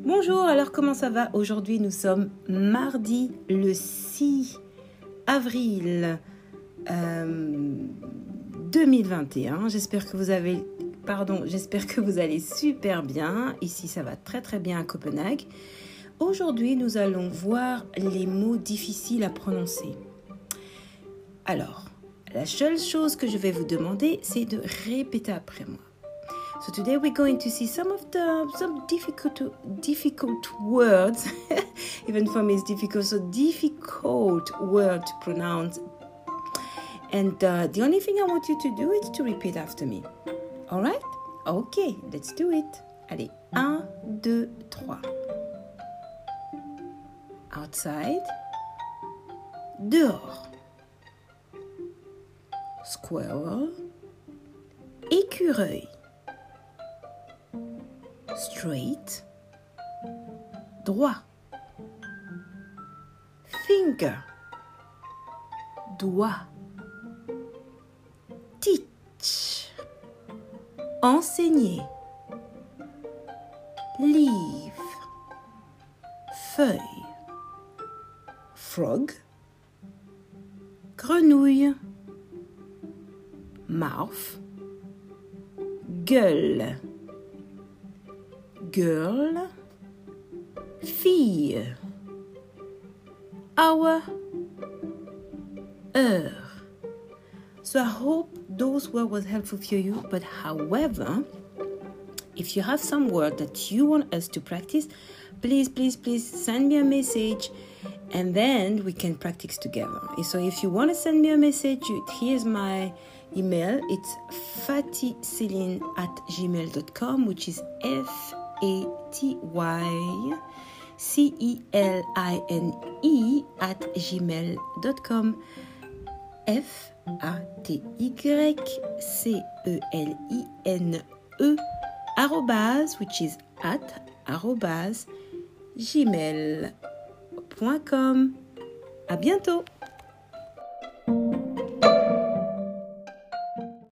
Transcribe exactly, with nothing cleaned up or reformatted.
Bonjour, alors comment ça va? Aujourd'hui, nous sommes mardi le six avril euh, deux mille vingt et un. J'espère que vous avez, pardon, j'espère que vous allez super bien. Ici, ça va très très bien à Copenhague. Aujourd'hui, nous allons voir les mots difficiles à prononcer. Alors, la seule chose que je vais vous demander, c'est de répéter après moi. So today we're going to see some of the some difficult difficult words. Even for me, it's difficult. So difficult word to pronounce. And uh, the only thing I want you to do is to repeat after me. All right? Okay, let's do it. Allez, un, deux, trois. Outside. Dehors. Squirrel. Écureuil. Straight, droit. Finger, doigt. Teach, enseigner. Leaf, feuille. Frog, grenouille. Mouth, gueule. Girl, fille. Hour, heure. So I hope those words were helpful for you. But however, if you have some word that you want us to practice, please, please, please send me a message and then we can practice together. And so if you want to send me a message, here's my email. It's faticeline at gmail dot com, which is F A T Y C E L I N E at gmail dot com. F A T Y C E L I N E arrobase, which is at arrobase gmail dot com. À bientôt!